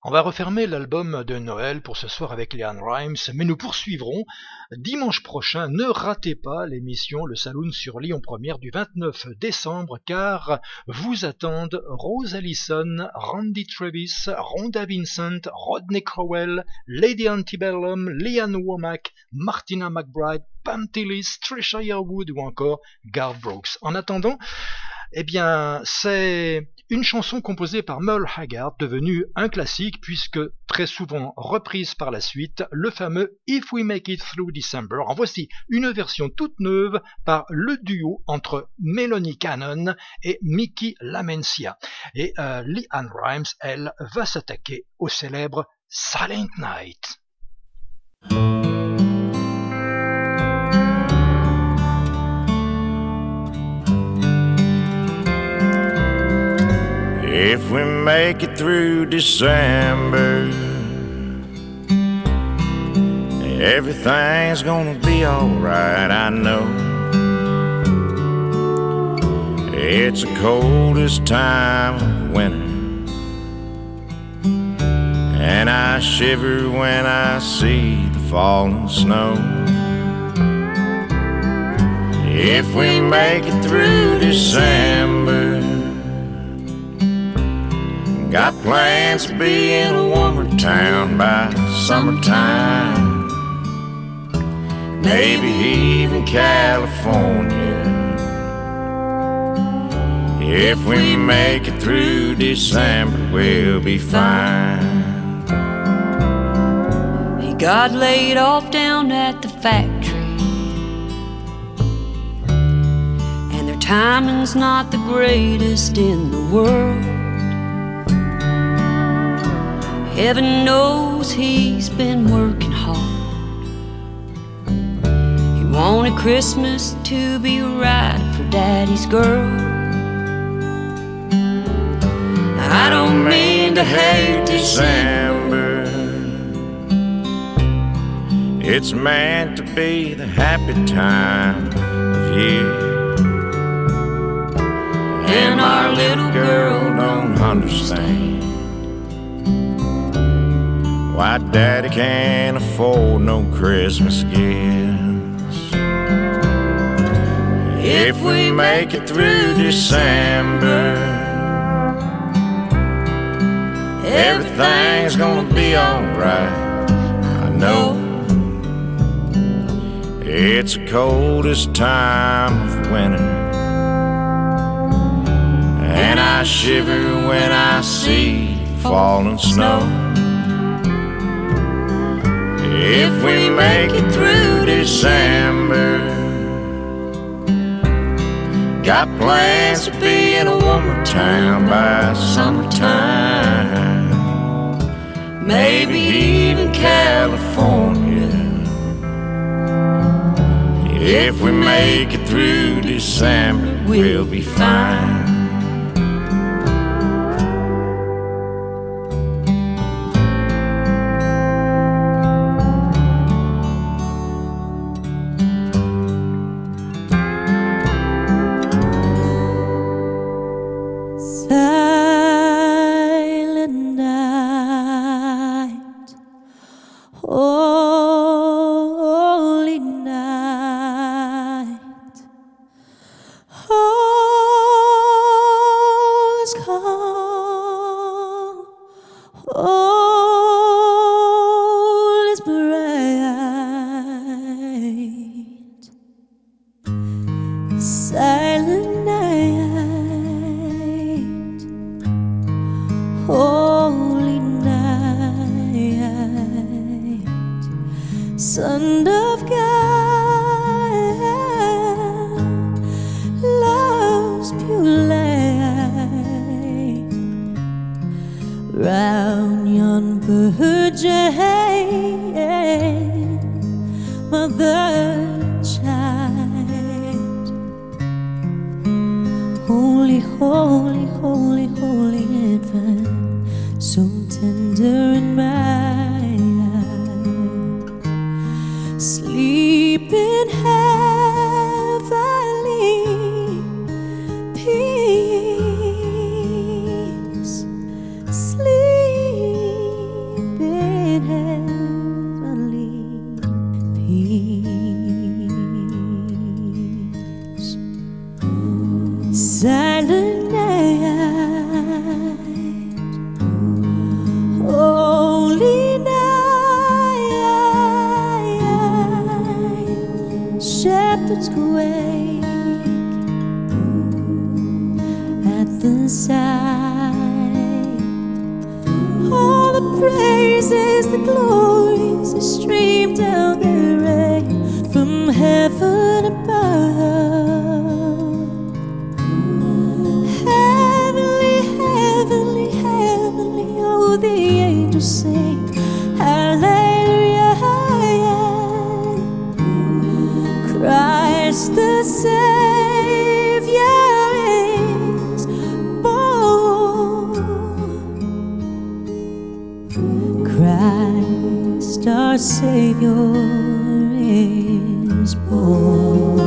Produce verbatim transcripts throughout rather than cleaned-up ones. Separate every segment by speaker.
Speaker 1: On va refermer l'album de Noël pour ce soir avec LeAnn Rimes, mais nous poursuivrons dimanche prochain. Ne ratez pas l'émission Le Saloon sur Lyon Première du vingt-neuf décembre, car vous attendent Rose Allison, Randy Travis, Rhonda Vincent, Rodney Crowell, Lady Antebellum, Leanne Womack, Martina McBride, Pam Tillis, Trisha Yearwood ou encore Garth Brooks. En attendant, eh bien, c'est une chanson composée par Merle Haggard, devenue un classique puisque très souvent reprise par la suite, le fameux If We Make It Through December. En voici une version toute neuve par le duo entre Melanie Cannon et Mickey Lamencia. Et euh, LeAnn Rimes, elle, va s'attaquer au célèbre Silent Night.
Speaker 2: If we make it through December, everything's gonna be alright, I know. It's the coldest time of winter, and I shiver when I see the falling snow. If we make it through December, got plans to be in a warmer town by summertime, maybe even California. If we make it through December, we'll be fine.
Speaker 3: He got laid off down at the factory, and their timing's not the greatest in the world. Heaven knows he's been working hard. He wanted Christmas to be right for Daddy's girl. I don't mean to hate December,
Speaker 2: it's meant to be the happy time of year, and our little girl don't understand why Daddy can't afford no Christmas gifts. If we make it through December, everything's gonna be alright, I know. It's the coldest time of winter, and I shiver when I see falling snow. If we make it through December, got plans to be in a warmer town by summertime, maybe even California. If we make it through December, we'll be fine.
Speaker 4: Sleep quake at the sight. All the praises, the glories that stream down the rain from heaven above. Heavenly, heavenly, heavenly, oh, the angels sing hallelujah. Christ the Savior is born. Christ our Savior is born.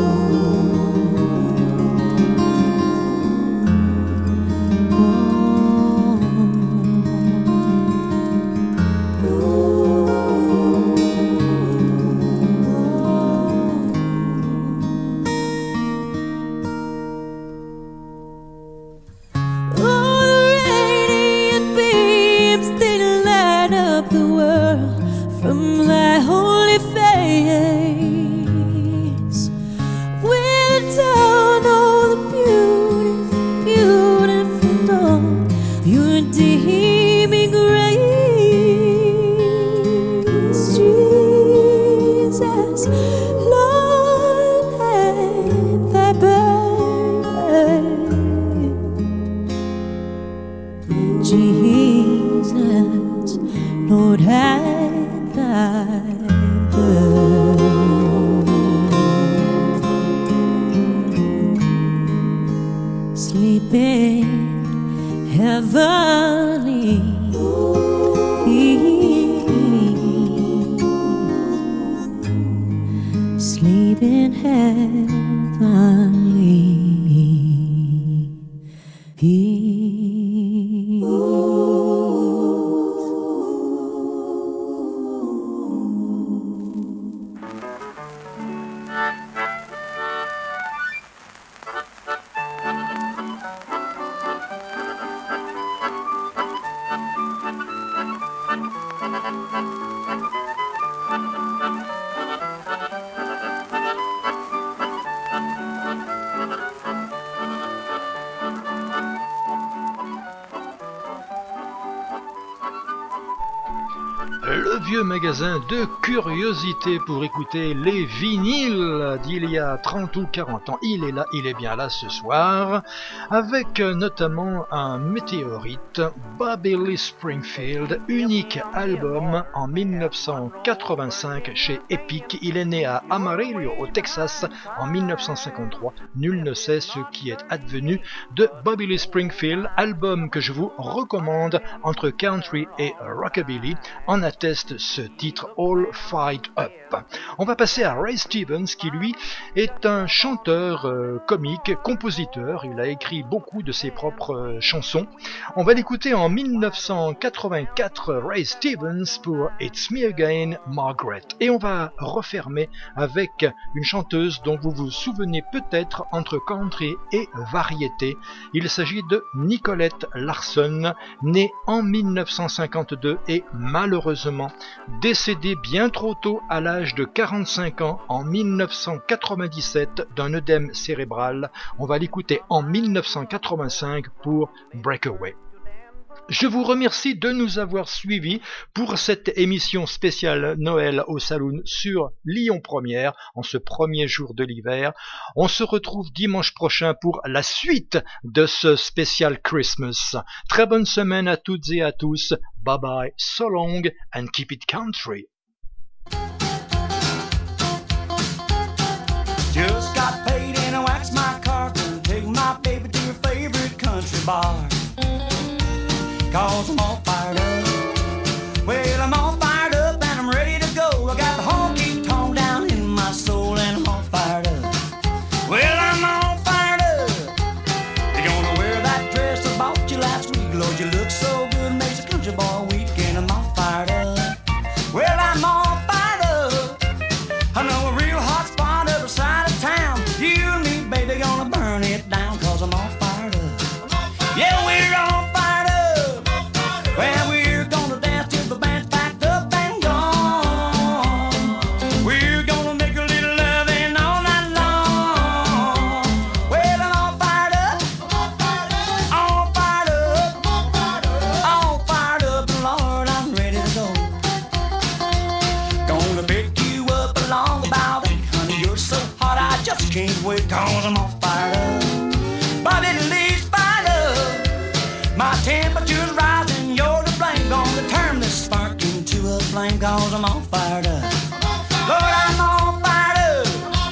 Speaker 1: Le vieux magasin de curiosités pour écouter les vinyles d'il y a trente ou quarante ans. Il est là, il est bien là ce soir, avec notamment un météorite, Bobby Lee Springfield, unique album en dix-neuf cent quatre-vingt-cinq chez Epic. Il est né à Amarillo, au Texas, en dix-neuf cent cinquante-trois. Nul ne sait ce qui est advenu de Bobby Lee Springfield, album que je vous recommande entre country et rockabilly. En atteste ce titre All Fight Up. On va passer à Ray Stevens qui lui est un chanteur euh, comique, compositeur. Il a écrit beaucoup de ses propres euh, chansons. On va l'écouter en dix-neuf cent quatre-vingt-quatre, Ray Stevens pour It's Me Again, Margaret. Et on va refermer avec une chanteuse dont vous vous souvenez peut-être entre country et variété. Il s'agit de Nicolette Larson, née en dix-neuf cent cinquante-deux et malheureusement décédée bien trop tôt à l'âge de quarante-cinq ans en dix-neuf cent quatre-vingt-dix-sept d'un œdème cérébral. On va l'écouter en dix-neuf cent quatre-vingt-cinq pour Breakaway. Je vous remercie de nous avoir suivis pour cette émission spéciale Noël au Saloon sur Lyon Première en ce premier jour de l'hiver. On se retrouve dimanche prochain pour la suite de ce spécial Christmas. Très bonne semaine à toutes et à tous. Bye bye, so long and keep it country.
Speaker 5: Just got paid and I waxed my car to take my baby to her favorite country bar. Cause I'm all fired up. Well, I'm all fired up and I'm ready to go. I got the honky tonk down in my soul and I'm all fired up. Well, I'm all fired up. You're gonna wear that dress I bought you last week. Lord, you look so good, makes a country boy weak. And I'm all fired up. Well, I'm all fired up. I know a real hot spot other side of town. You and me, baby, gonna burn it down. Cause I'm all fired up. Yeah, we're all fired up. Well, we cause I'm all fired up. My little leaves fired up. My temperature's rising, you're to blame. Gonna turn this spark into a flame, cause I'm all fired up. Lord, I'm all fired up.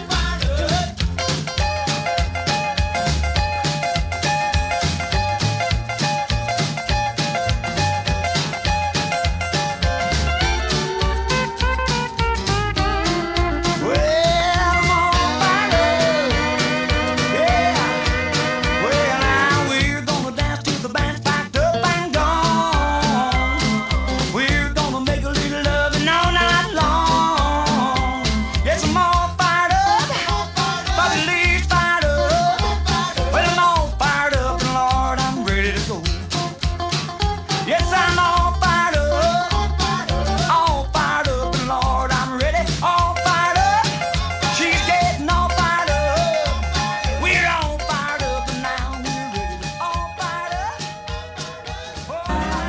Speaker 5: Well, I'm all fired up. Yeah. Well, now we're gonna dance till the band's packed up and gone. We're gonna make a little loving all night long. Yes, I'm all fired up. Bobby Lee's fired up. Well, I'm all fired up, and Lord, I'm ready to go. Yes, I'm all fired up. All fired up, and Lord, I'm ready. All fired up. She's getting all fired up. We're all fired up, and now we're ready to all fired up.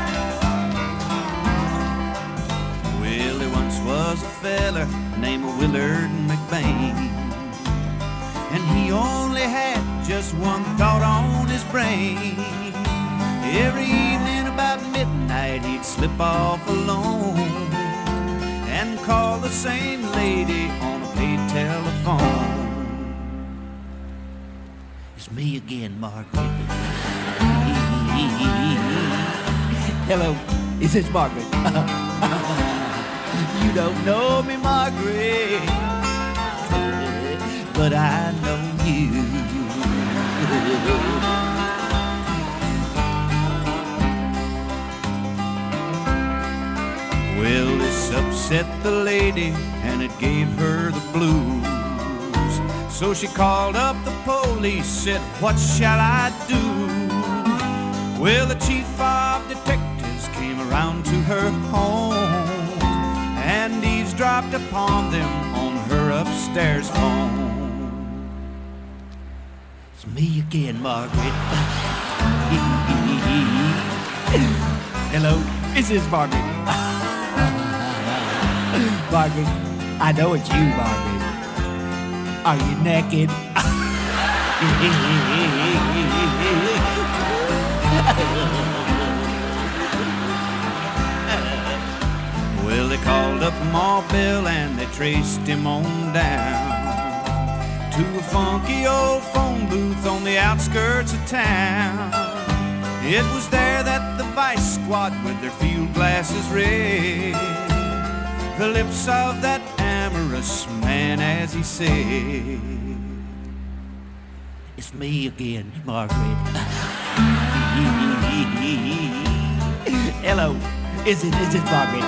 Speaker 6: Well, there once was a feller named Willard McBain, and he only had just one thought on his brain. Every evening about midnight he'd slip off alone and call the same lady on a paid telephone. It's me again, Margaret. Hello, is this Margaret? You don't know me, Margaret, but I know you. Well, this upset the lady and it gave her the blues. So she called up the police, said, what shall I do? Well, the chief of detectives came around to her home and eavesdropped upon them on her upstairs phone. It's me again, Margaret. Hello, is this Margaret? Margaret, I know it's you, Margaret. Are you naked? Well, they called up Ma Bell and they traced him on down to a funky old phone booth on the outskirts of town. It was there that the vice squad with their field glasses read the lips of that amorous man as he said, it's me again, Margaret. Hello, is it, is it Margaret?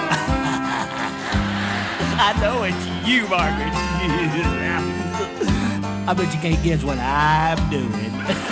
Speaker 6: I know it's you, Margaret. I bet you can't guess what I'm doing.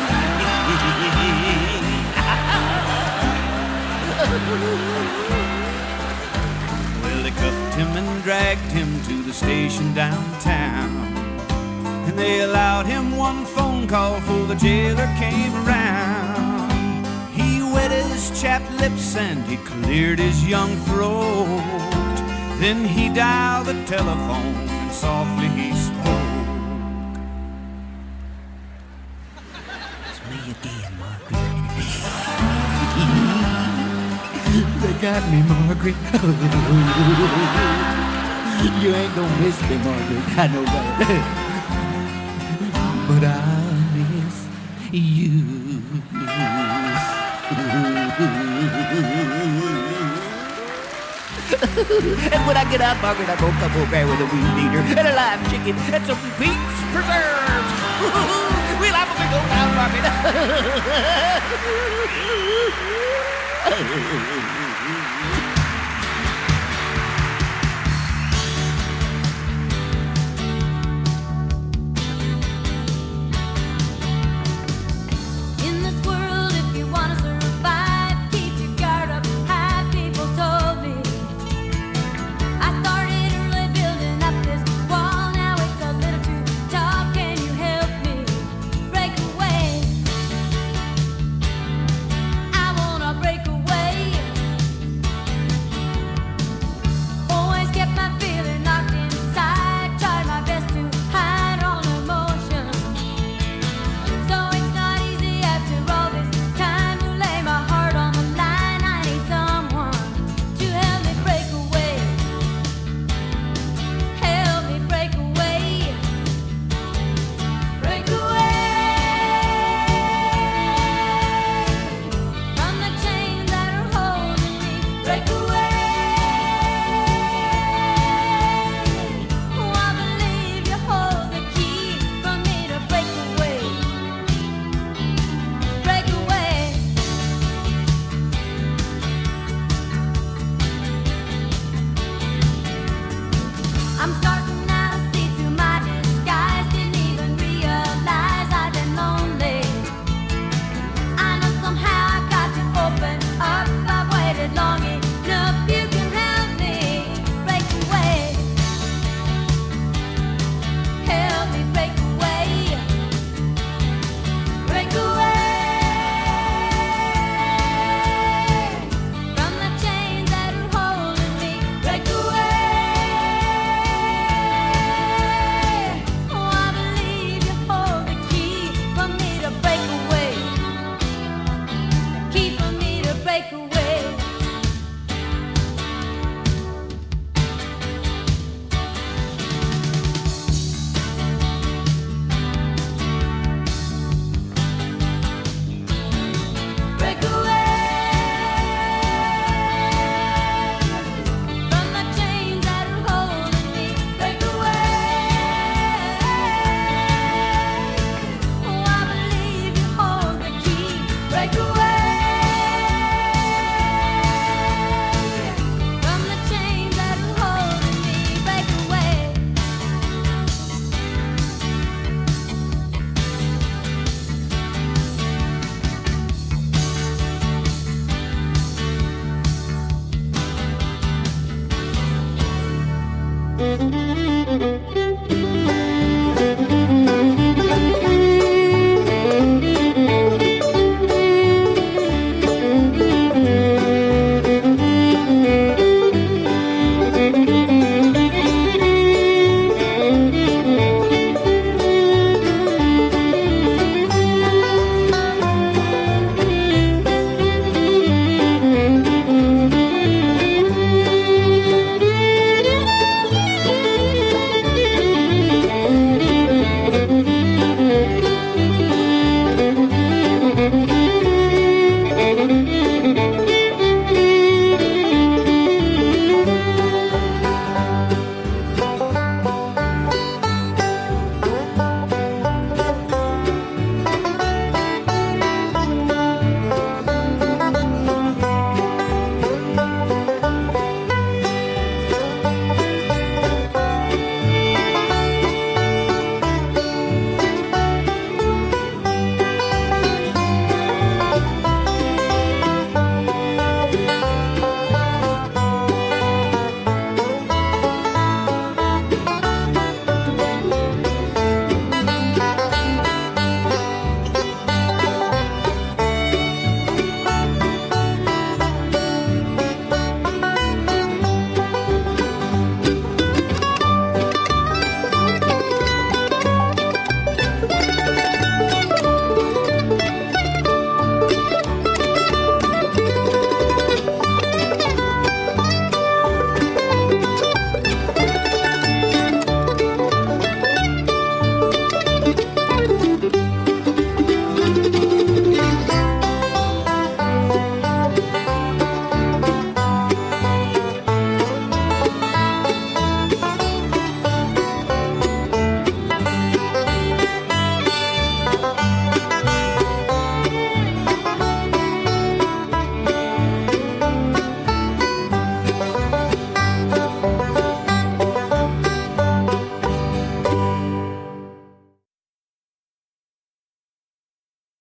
Speaker 6: Well, they cuffed him and dragged him to the station downtown, and they allowed him one phone call before the jailer came around. He wetted his chapped lips and he cleared his young throat. Then he dialed the telephone and softly he spoke. It's me again, Margaret. They got me, Margaret. You ain't gonna miss me, Margaret. I know that. But I'll miss you. And when I get out, Margaret, I'm gonna come over here with a weed eater and a live chicken and some peach preserves. We'll have a big old time, Margaret.